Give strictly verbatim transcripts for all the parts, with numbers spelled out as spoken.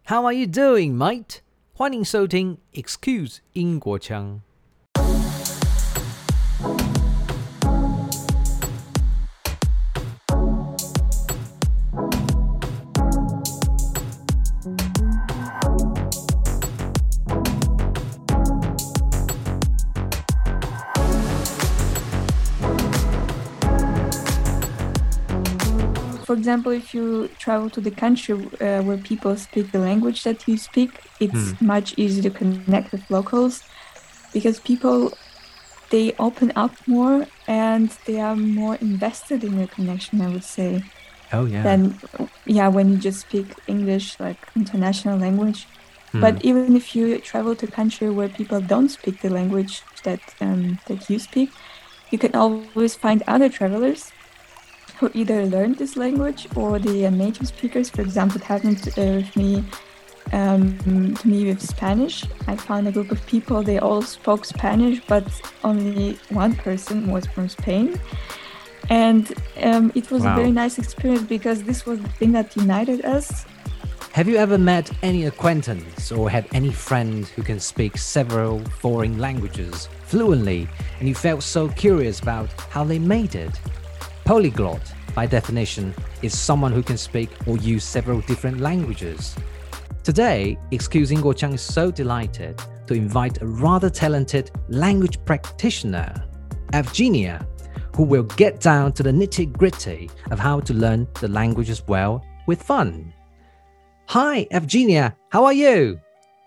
How are you doing, mate? 歡迎收聽 Excuse 英國腔。 For example, if you travel to the country uh, where people speak the language that you speak, it's mm. much easier to connect with locals because people, they open up more and they are more invested in your connection, I would say. Oh, yeah. Than, yeah, when you just speak English, like international language. Mm. But even if you travel to a country where people don't speak the language that um, that you speak, you can always find other travelers who either learned this language or they are native speakers. For example, it happened uh, with me, um, to me with Spanish. I found a group of people, they all spoke Spanish, but only one person was from Spain. And um, it was wow. a very nice experience because this was the thing that united us. Have you ever met any acquaintance or had any friend who can speak several foreign languages fluently and you felt so curious about how they made it? Polyglot, by definition, is someone who can speak or use several different languages. Today, Excuse 英國腔 is so delighted to invite a rather talented language practitioner, Evgenia, who will get down to the nitty-gritty of how to learn the language as well with fun. Hi, Evgenia, how are you?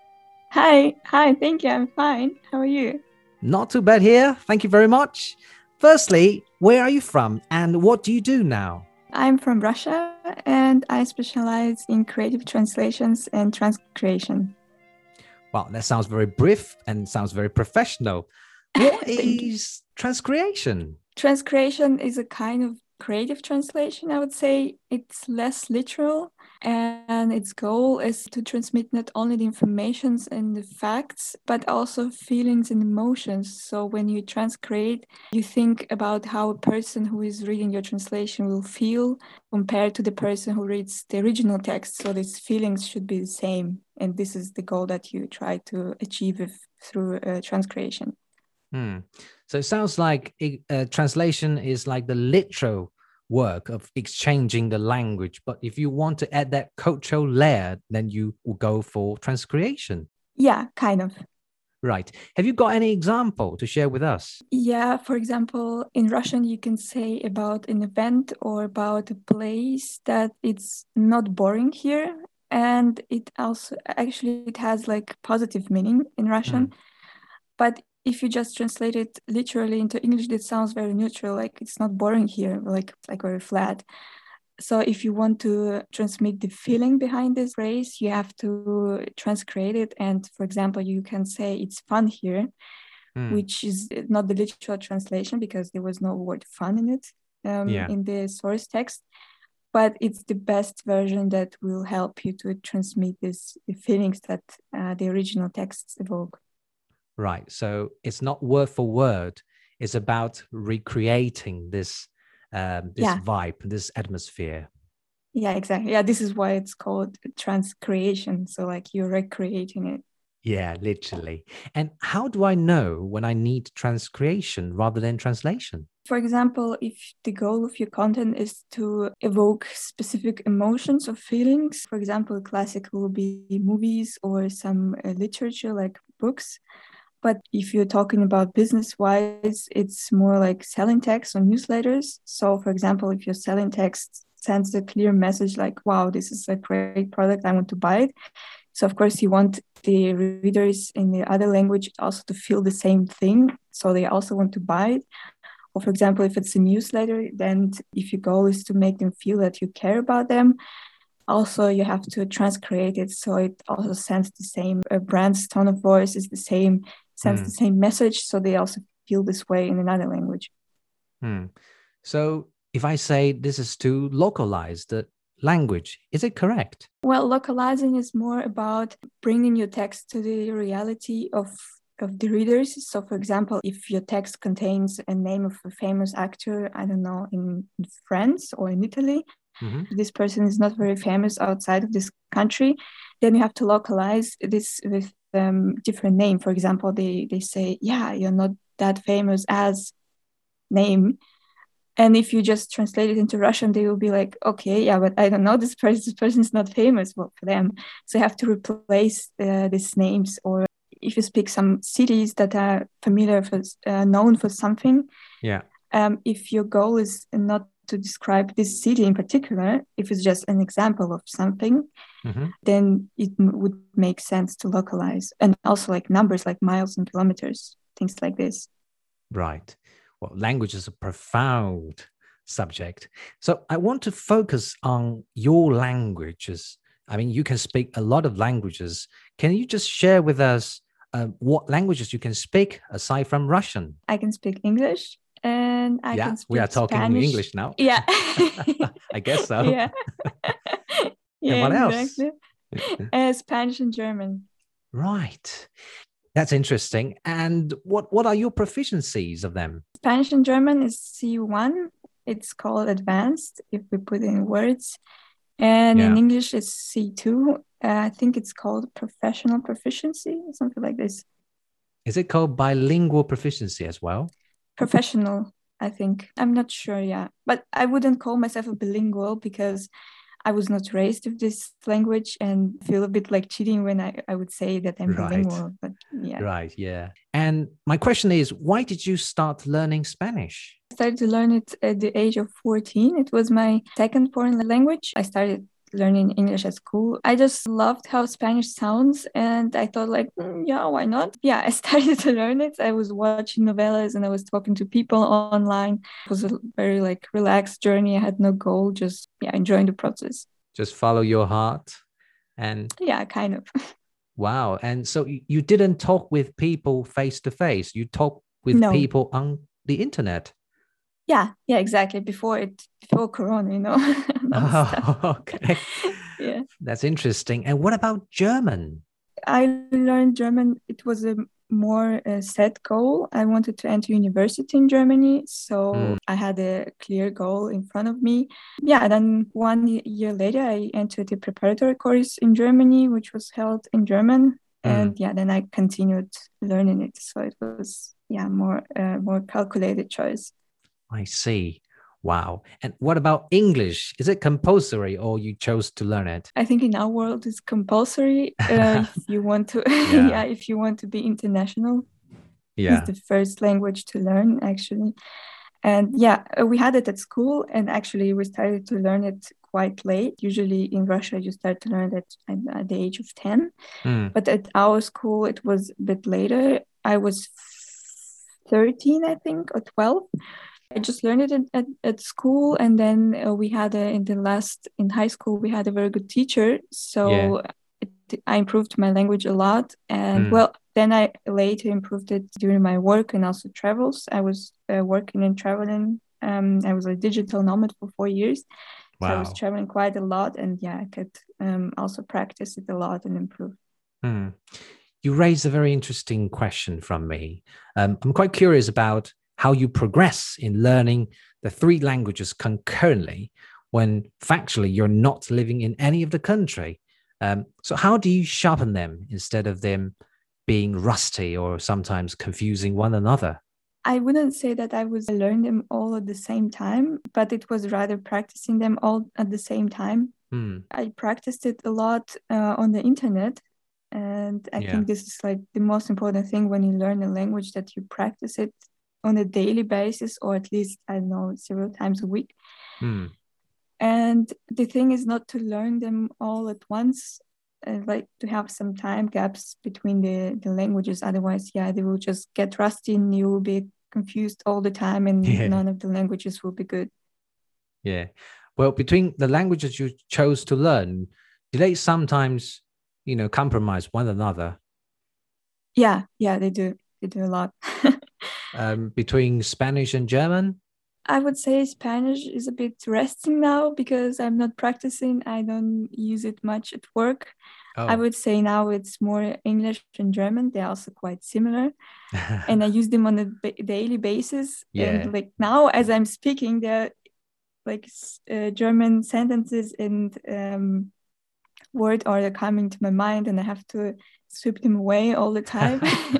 Hi, hi, thank you, I'm fine. How are you? Not too bad here, thank you very much. Firstly, where are you from and what do you do now? I'm from Russia and I specialize in creative translations and transcreation. Wow, that sounds very brief and sounds very professional. What is transcreation? Transcreation is a kind of creative translation, I would say. It's less literal and its goal is to transmit not only the informations and the facts, but also feelings and emotions. So when you transcreate, you think about how a person who is reading your translation will feel compared to the person who reads the original text. So these feelings should be the same. And this is the goal that you try to achieve with, through uh, transcreation. Hmm. So it sounds like uh, translation is like the literal work of exchanging the language. But if you want to add that cultural layer, then you will go for transcreation. Yeah, kind of. Right. Have you got any example to share with us? Yeah, for example, in Russian, you can say about an event or about a place that it's not boring here. And it also, actually, it has like positive meaning in Russian. Mm. But if you just translate it literally into English, it sounds very neutral, like it's not boring here, like like very flat. So if you want to transmit the feeling behind this phrase, you have to transcreate it. And for example, you can say it's fun here, mm. which is not the literal translation because there was no word fun in it um, yeah. in the source text. But it's the best version that will help you to transmit this, the feelings that uh, the original texts evoke. Right. So it's not word for word. It's about recreating this um, this yeah. vibe, this atmosphere. Yeah, exactly. Yeah, this is why it's called transcreation. So like you're recreating it. Yeah, literally. And how do I know when I need transcreation rather than translation? For example, if the goal of your content is to evoke specific emotions or feelings, for example, classic will be movies or some uh, literature like books. But if you're talking about business-wise, it's more like selling text or newsletters. So, for example, if your selling text sends a clear message like, wow, this is a great product, I want to buy it. So, of course, you want the readers in the other language also to feel the same thing. So they also want to buy it. Or, for example, if it's a newsletter, then if your goal is to make them feel that you care about them, also you have to transcreate it. So it also sends the same, uh, brand's tone of voice is the same, sends mm. the same message, so they also feel this way in another language. Hmm. So if I say this is to localize the language, is it correct? Well, localizing is more about bringing your text to the reality of, of the readers. So, for example, if your text contains a name of a famous actor, I don't know, in, in France or in Italy, mm-hmm. this person is not very famous outside of this country, then you have to localize this with um, different name. For example, they, they say, yeah, you're not that famous as name. And if you just translate it into Russian, they will be like, okay, yeah, but I don't know this person. This person is not famous, well, for them. So you have to replace uh, these names. Or if you speak some cities that are familiar for, uh, known for something, Yeah. Um, if your goal is not to describe this city in particular, if it's just an example of something, Mm-hmm. then it m- would make sense to localize. And also like numbers like miles and kilometers, things like this. Right. Well, language is a profound subject. So I want to focus on your languages. I mean, you can speak a lot of languages. Can you just share with us uh, what languages you can speak aside from Russian? I can speak English and I Yeah, can we speak are talking Spanish. English now. Yeah. I guess so. Yeah. And Yeah, what else? exactly. Uh, Spanish and German. Right. That's interesting. And what, what are your proficiencies of them? Spanish and German is C one. It's called advanced if we put in words. And Yeah. in English, it's C two. Uh, I think it's called professional proficiency, something like this. Is it called bilingual proficiency as well? Professional, I think. I'm not sure, yeah. But I wouldn't call myself a bilingual because I was not raised with this language and feel a bit like cheating when I, I would say that I'm Right. bilingual. But yeah. Right, yeah. And my question is, why did you start learning Spanish? I started to learn it at the age of fourteen. It was my second foreign language. I started learning English at school. I just loved how Spanish sounds and I thought like, mm, yeah, why not? Yeah, I started to learn it. I was watching novellas and I was talking to people online. It was a very like relaxed journey. I had no goal, just yeah, enjoying the process. Just follow your heart and yeah, kind of. Wow. And so you didn't talk with people face to face. You talk with no. people on the internet. Yeah, yeah, exactly. Before it, before Corona, you know. Oh, okay. Yeah. That's interesting. And what about German? I learned German. It was a more uh, set goal. I wanted to enter university in Germany. So mm. I had a clear goal in front of me. Yeah, then one year later, I entered a preparatory course in Germany, which was held in German. Mm. And yeah, then I continued learning it. So it was, yeah, more uh, more calculated choice. I see. Wow. And what about English? Is it compulsory or you chose to learn it? I think in our world it's compulsory uh, if you want to yeah. yeah, if you want to be international. Yeah. It's the first language to learn actually. And yeah, we had it at school and actually we started to learn it quite late. Usually in Russia you start to learn it at, at the age of ten. Mm. But at our school it was a bit later. I was thirteen, I think, or twelve. I just learned it at, at school, and then uh, we had a, in the last in high school we had a very good teacher, so yeah. it, I improved my language a lot. And mm. well, then I later improved it during my work and also travels. I was uh, working and traveling. Um, I was a digital nomad for four years, wow. So I was traveling quite a lot, and yeah, I could um, also practice it a lot and improve. Mm. You raised a very interesting question from me. Um, I'm quite curious about how you progress in learning the three languages concurrently when factually you're not living in any of the country. Um, so how do you sharpen them instead of them being rusty or sometimes confusing one another? I wouldn't say that I was learning them all at the same time, but it was rather practicing them all at the same time. Hmm. I practiced it a lot uh, on the internet. And I yeah. think this is like the most important thing when you learn a language, that you practice it on a daily basis, or at least, I don't know, several times a week. Mm. And the thing is not to learn them all at once, uh, like to have some time gaps between the, the languages. Otherwise, yeah, they will just get rusty and you will be confused all the time and yeah. none of the languages will be good. Yeah. Well, between the languages you chose to learn, do they sometimes, you know, compromise one another? Yeah, yeah, they do. They do a lot. Um, between Spanish and German? I would say Spanish is a bit resting now because I'm not practicing. I don't use it much at work. Oh. I would say now it's more English and German. They're also quite similar. And I use them on a ba- daily basis. Yeah. And like now as I'm speaking, they're like uh, German sentences and um, word are coming to my mind and I have to sweep them away all the time.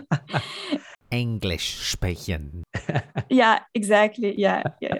English sprechen. Yeah, exactly. Yeah, yeah.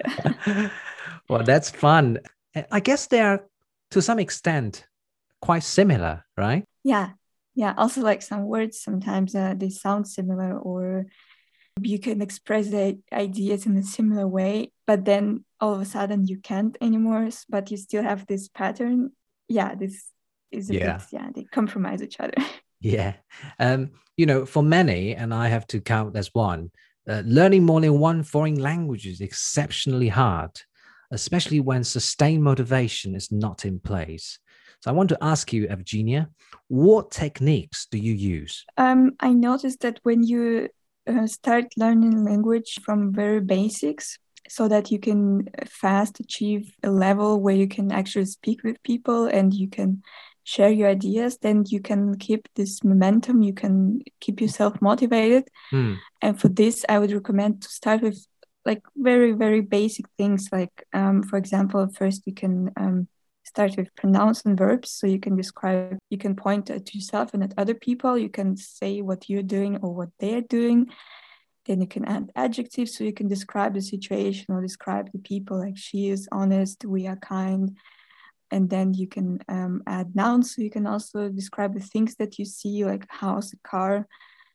Well, that's fun. I guess they are, to some extent, quite similar, right? Yeah, yeah. Also, like some words, sometimes uh, they sound similar, or you can express the ideas in a similar way, but then all of a sudden you can't anymore, but you still have this pattern. Yeah, this is a Yeah. bit, yeah, they compromise each other. Yeah. Um, you know, for many, and I have to count as one, uh, learning more than one foreign language is exceptionally hard, especially when sustained motivation is not in place. So I want to ask you, Evgenia, what techniques do you use? Um, I noticed that when you uh, start learning language from very basics, so that you can fast achieve a level where you can actually speak with people and you can share your ideas, then you can keep this momentum, you can keep yourself motivated. Hmm. And for this, I would recommend to start with like very, very basic things. Like, um, for example, first you can um, start with pronouns and verbs. So you can describe, you can point at yourself and at other people. You can say what you're doing or what they're doing. Then you can add adjectives. So you can describe the situation or describe the people, like she is honest, we are kind. And then you can um, add nouns. So you can also describe the things that you see, like house, a car.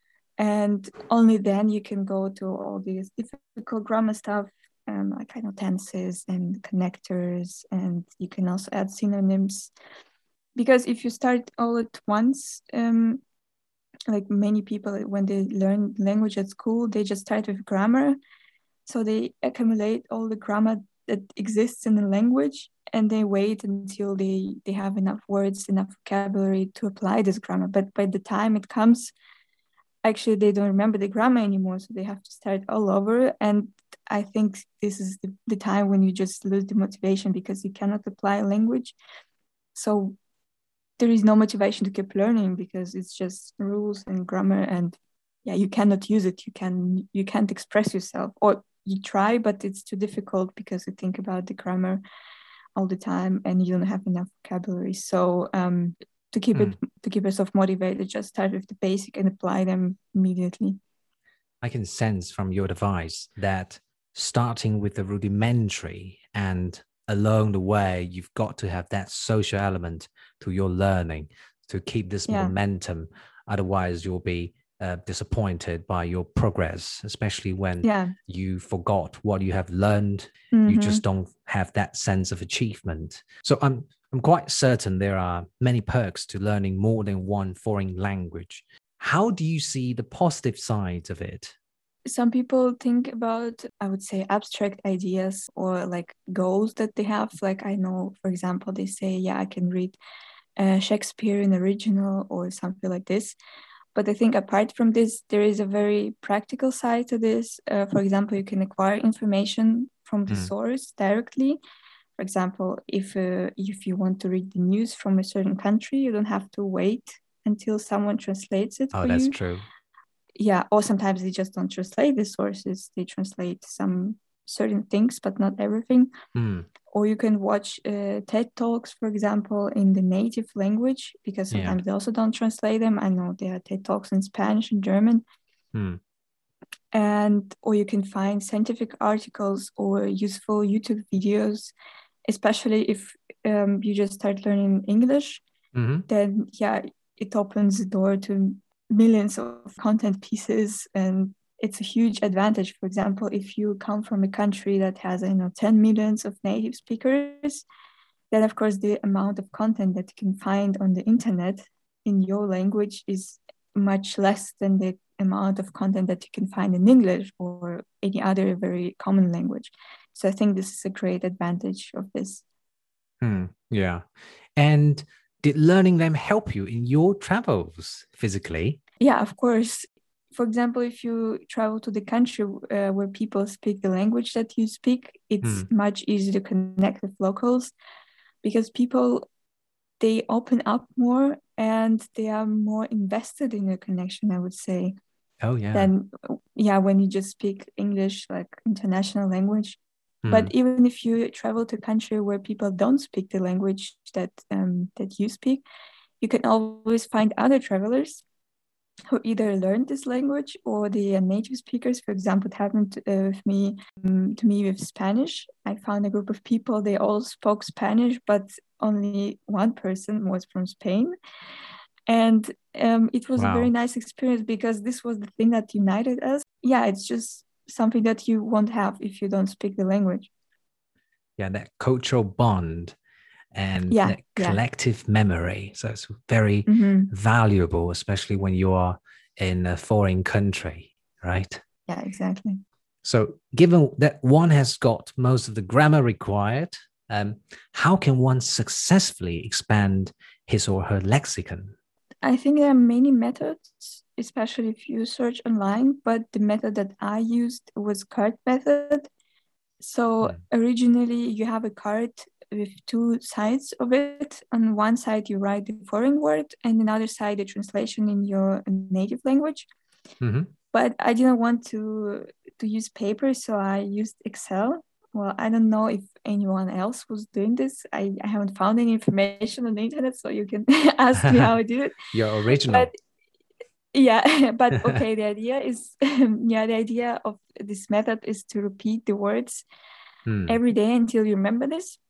And only then you can go to all these difficult grammar stuff, um, like kind of tenses and connectors, and you can also add synonyms. Because if you start all at once, um, like many people, when they learn language at school, they just start with grammar. So they accumulate all the grammar that exists in the language, and they wait until they, they have enough words, enough vocabulary to apply this grammar. But by the time it comes, actually they don't remember the grammar anymore, so they have to start all over. And I think this is the, the time when you just lose the motivation because you cannot apply language. So there is no motivation to keep learning because it's just rules and grammar, and yeah, you cannot use it. You can you can't express yourself, or you try, but it's too difficult because you think about the grammar all the time and you don't have enough vocabulary. So um to keep it Mm. to keep yourself motivated, just start with the basic and apply them immediately. I can sense from your advice that starting with the rudimentary and along the way, you've got to have that social element to your learning to keep this Yeah. momentum. Otherwise, you'll be uh, disappointed by your progress, especially when Yeah. you forgot what you have learned. Mm-hmm. You just don't have that sense of achievement. So I'm I'm quite certain there are many perks to learning more than one foreign language. How do you see the positive sides of it? Some people think about, I would say, abstract ideas or like goals that they have. Like I know, for example, they say, yeah, I can read uh, Shakespeare in original or something like this. But I think apart from this, there is a very practical side to this. Uh, for example, you can acquire information from the Mm. source directly. For example, if uh, if you want to read the news from a certain country, you don't have to wait until someone translates it Oh, for that's you. true. Yeah, or sometimes they just don't translate the sources. They translate some certain things, but not everything. Mm. Or you can watch uh, TED Talks, for example, in the native language, because sometimes Yeah. they also don't translate them. I know there are TED Talks in Spanish and German. Mm. And or you can find scientific articles or useful YouTube videos, especially if um, you just start learning English. Mm-hmm. Then yeah, it opens the door to millions of content pieces, and it's a huge advantage. For example, if you come from a country that has, you know, ten millions of native speakers, then of course the amount of content that you can find on the internet in your language is much less than the amount of content that you can find in English or any other very common language. So I think this is a great advantage of this. Mm. Yeah. And did learning them help you in your travels physically? Yeah, of course. For example, if you travel to the country uh, where people speak the language that you speak, it's Mm. much easier to connect with locals because people, they open up more and they are more invested in your connection, I would say. Oh, yeah. Than, yeah, when you just speak English, like international language. But Mm. even if you travel to a country where people don't speak the language that um, that you speak, you can always find other travelers who either learned this language or they are native speakers. For example, it happened uh, with me um, to me with Spanish. I found a group of people, they all spoke Spanish, but only one person was from Spain. And um, it was wow. a very nice experience because this was the thing that united us. Yeah, it's just something that you won't have if you don't speak the language. Yeah, that cultural bond and yeah, that collective yeah. memory. So it's very mm-hmm. valuable, especially when you are in a foreign country, right? Yeah, exactly. So given that one has got most of the grammar required, um, how can one successfully expand his or her lexicon? I think there are many methods, especially if you search online, but the method that I used was card method. So hmm. originally you have a card with two sides of it. On one side, you write the foreign word, and another side, the translation in your native language. Mm-hmm. But I didn't want to to use paper, so I used Excel. Well, I don't know if anyone else was doing this. I, I haven't found any information on the internet, so you can ask me how I did it. Your original. But, yeah, but okay, the idea is, yeah, the idea of this method is to repeat the words hmm. every day until you remember this.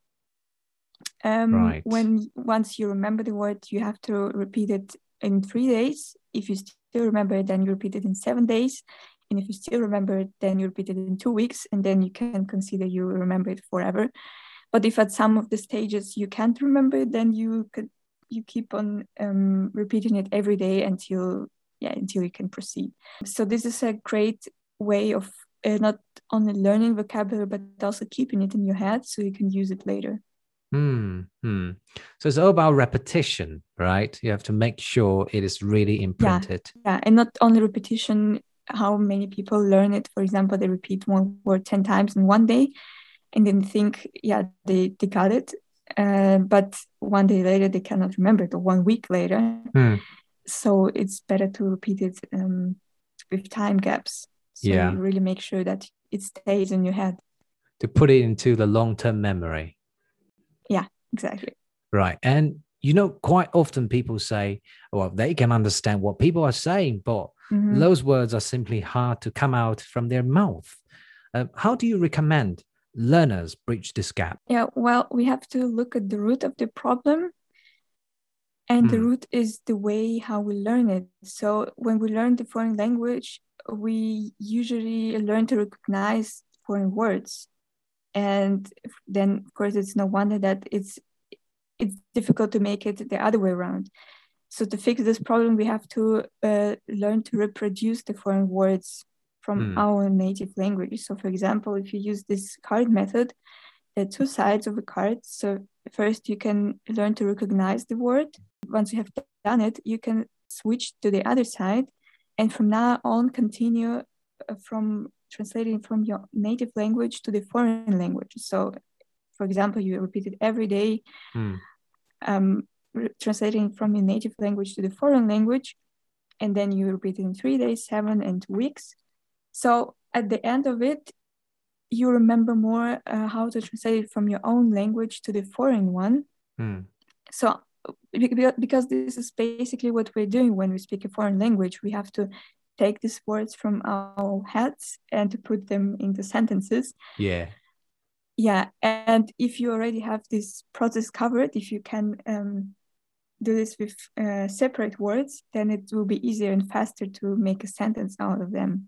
Um, right. When once you remember the word, you have to repeat it in three days. If you still remember it, then you repeat it in seven days. And if you still remember it, then you repeat it in two weeks, and then you can consider you remember it forever. But if at some of the stages you can't remember it, then you could you keep on um, repeating it every day until yeah until you can proceed. So this is a great way of uh, not only learning vocabulary but also keeping it in your head so you can use it later. Hmm. hmm. So it's all about repetition, right? You have to make sure it is really imprinted. Yeah, yeah. And not only repetition, how many people learn it. For example, they repeat one word ten times in one day and then think, yeah, they, they got it. Uh, but one day later, they cannot remember it, or one week later. Hmm. So it's better to repeat it um, with time gaps. So yeah. you really make sure that it stays in your head. To put it into the long-term memory. Yeah, exactly. Right. And, you know, quite often people say, well, they can understand what people are saying, but mm-hmm. those words are simply hard to come out from their mouth. Uh, how do you recommend learners bridge this gap? Yeah, well, we have to look at the root of the problem. And mm. the root is the way how we learn it. So when we learn the foreign language, we usually learn to recognize foreign words. And then, of course, it's no wonder that it's it's difficult to make it the other way around. So to fix this problem, we have to uh, learn to reproduce the foreign words from mm. our native language. So, for example, if you use this card method, there are two sides of a card. So first, you can learn to recognize the word. Once you have done it, you can switch to the other side, and from now on, continue from translating from your native language to the foreign language. So, for example, you repeat it every day, mm. um, re- translating from your native language to the foreign language, and then you repeat it in three days, seven, and two weeks. So at the end of it, you remember more uh, how to translate it from your own language to the foreign one. Mm. So because this is basically what we're doing when we speak a foreign language, we have to take these words from our heads and to put them into sentences. Yeah. Yeah. And if you already have this process covered, if you can um, do this with uh, separate words, then it will be easier and faster to make a sentence out of them.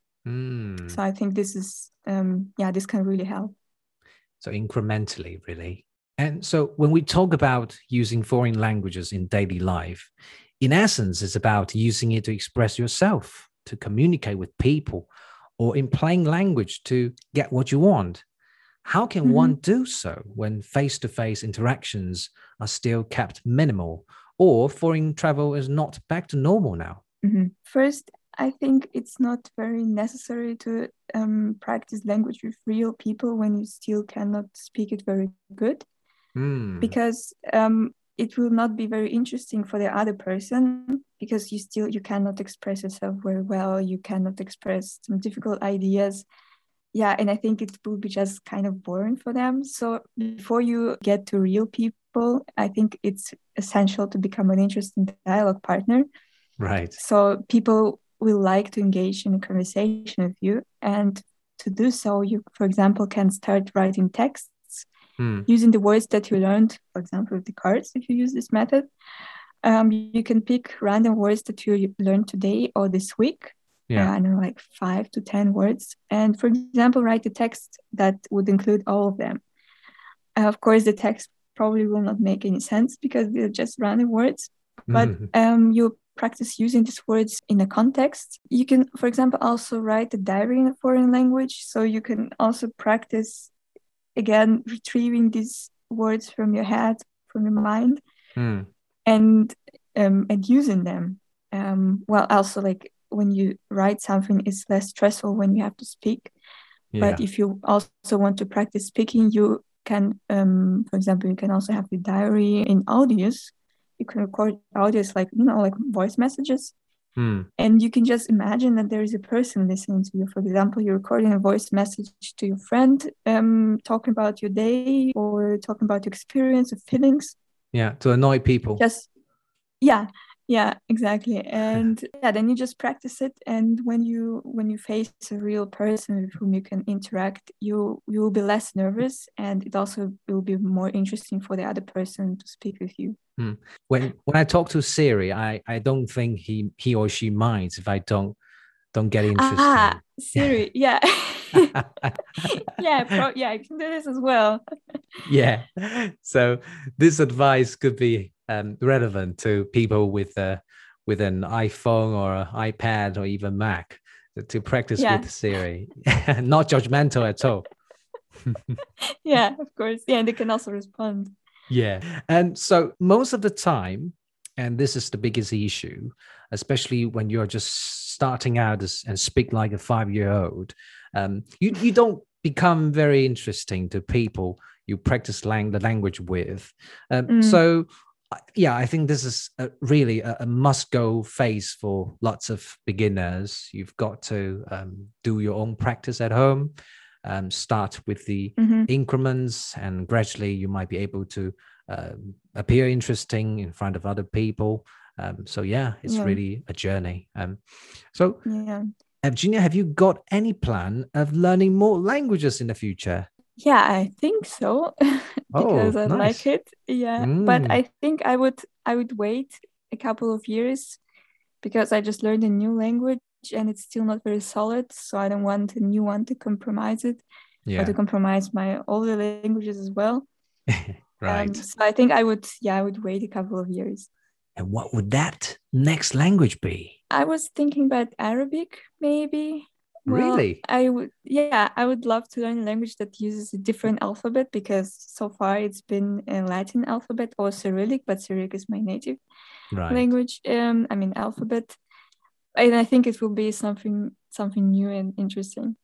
Mm. So I think this is, um, yeah, this can really help. So incrementally, really. And so when we talk about using foreign languages in daily life, in essence, it's about using it to express yourself, to communicate with people, or in plain language to get what you want. How can mm-hmm. one do so when face-to-face interactions are still kept minimal, or foreign travel is not back to normal now? Mm-hmm. First, I think it's not very necessary to um, practice language with real people when you still cannot speak it very good. Mm. Because um, it will not be very interesting for the other person because you still you cannot express yourself very well. You cannot express some difficult ideas. yeah, and I think it will be just kind of boring for them. So before you get to real people, I think it's essential to become an interesting dialogue partner. Right. So people will like to engage in a conversation with you. And to do so, you, for example, can start writing texts hmm. using the words that you learned, for example, with the cards, if you use this method. Um, you can pick random words that you learned today or this week. Yeah, uh, I don't know, like five to ten words. And for example, write a text that would include all of them. Uh, of course, the text probably will not make any sense because they're just random words. But mm-hmm. um, you practice using these words in a context. You can, for example, also write a diary in a foreign language. So you can also practice, again, retrieving these words from your head, from your mind, mm. and um, and using them. Um, well, also, like, when you write something, it's less stressful when you have to speak. Yeah. But if you also want to practice speaking, you can, um, for example, you can also have the diary in audios. You can record audios like, you know, like voice messages. Hmm. And you can just imagine that there is a person listening to you. For example, you're recording a voice message to your friend, um, talking about your day or talking about your experience or feelings. Yeah, to annoy people. Just, yeah. Yeah, exactly. And yeah, then you just practice it. And when you when you face a real person with whom you can interact, you you will be less nervous, and it also will be more interesting for the other person to speak with you. Hmm. When when I talk to Siri, I, I don't think he he or she minds if I don't don't get interested. Ah, Siri, yeah. yeah, pro- yeah, I can do this as well. Yeah. So this advice could be um, relevant to people with uh, with an iPhone or an iPad or even Mac to practice yeah. with Siri. Not judgmental at all. Yeah, of course. Yeah, and they can also respond. Yeah. And so most of the time, and this is the biggest issue, especially when you're just starting out as, and speak like a five-year-old, um, you, you don't become very interesting to people you practice lang- the language with. Um, mm. So, yeah, I think this is a, really a, a must-go phase for lots of beginners. You've got to um, do your own practice at home. Um, start with the mm-hmm. increments, and gradually you might be able to uh, appear interesting in front of other people. Um, so yeah, it's yeah. really a journey. Um, so, yeah. Evgenia, have you got any plan of learning more languages in the future? Yeah, I think so because oh, I nice. like it. Yeah, mm. but I think I would I would wait a couple of years because I just learned a new language. And it's still not very solid, so I don't want a new one to compromise it, yeah. or to compromise my older languages as well. Right. Um, so I think I would, yeah, I would wait a couple of years. And what would that next language be? I was thinking about Arabic, maybe. Really? Well, I would, yeah, I would love to learn a language that uses a different alphabet, because so far it's been a Latin alphabet or Cyrillic, but Cyrillic is my native right. language. Um, I mean alphabet. And I think it will be something something new and interesting.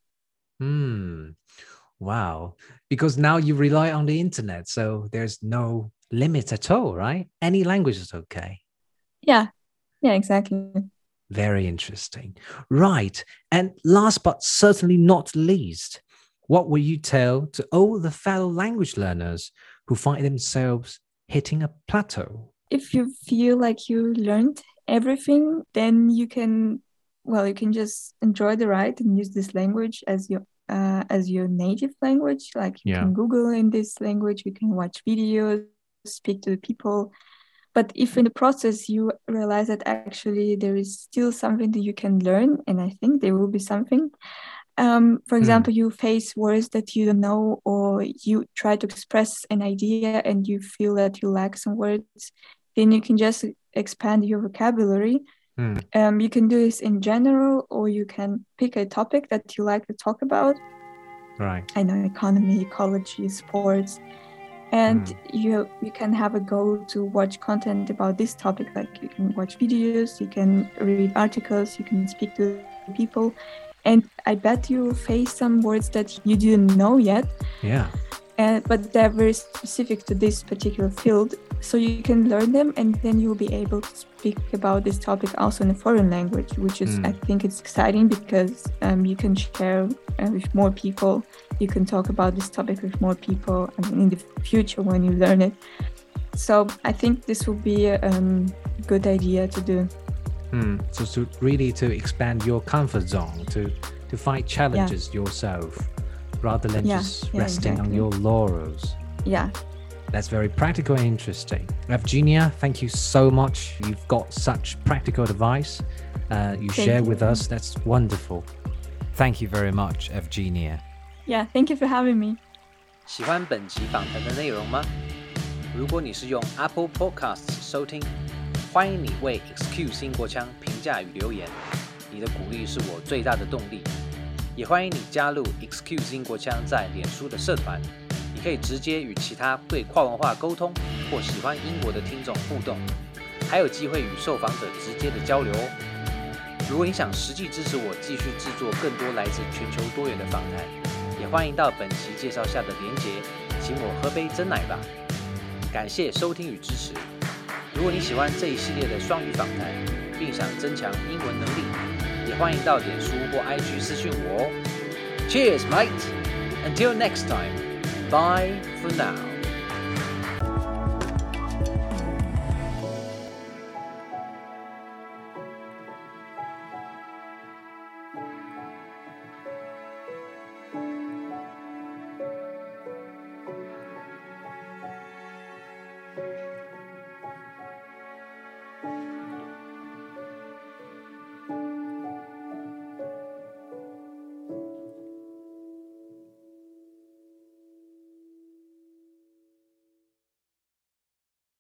Hmm. Wow. Because now you rely on the internet, so there's no limit at all, right? Any language is okay. Yeah. Yeah, exactly. Very interesting. Right. And last but certainly not least, what will you tell to all the fellow language learners who find themselves hitting a plateau? If you feel like you learned everything, then you can, well, you can just enjoy the ride and use this language as your uh, as your native language. Like you yeah. can Google in this language, you can watch videos, speak to the people. But if in the process you realize that actually there is still something that you can learn, and I think there will be something. Um, for example, mm. you face words that you don't know, or you try to express an idea and you feel that you lack some words, then you can just expand your vocabulary. Mm. Um, you can do this in general, or you can pick a topic that you like to talk about. Right. I know, economy, ecology, sports. And mm. you you can have a goal to watch content about this topic. Like you can watch videos, you can read articles, you can speak to people. And I bet you face some words that you didn't know yet. Yeah. and but they're very specific to this particular field. So you can learn them, and then you'll be able to speak about this topic also in a foreign language, which is, mm. I think it's exciting because um, you can share uh, with more people. You can talk about this topic with more people, I mean, in the future when you learn it. So I think this will be a um, good idea to do. Mm. So to really to expand your comfort zone, to to find challenges yeah. yourself, rather than yeah, just yeah, resting exactly. on your laurels. Yeah. That's very practical and interesting. Evgenia, thank you so much. You've got such practical advice uh, you thank share you. with us. That's wonderful. Thank you very much, Evgenia. Yeah, thank you for having me. 喜歡本集訪談的內容嗎？如果你是用 Apple Podcasts 收聽，歡迎你為 Excuse 英國腔評價與留言。你的鼓勵是我最大的動力。也歡迎你加入 Excuse 英國腔在臉書的社團。你可以直接與其他對跨文化溝通或喜歡英國的聽眾互動，還有機會與受訪者直接的交流哦。如果你想實際支持我繼續製作更多來自全球多元的訪談，也歡迎到本期介紹下的連結，請我喝杯珍奶吧。感謝收聽與支持。如果你喜歡這一系列的雙語訪談，並想增強英文能力，也歡迎到臉書或 I G 私訊我哦。Cheers, mate! Until next time. Bye for now.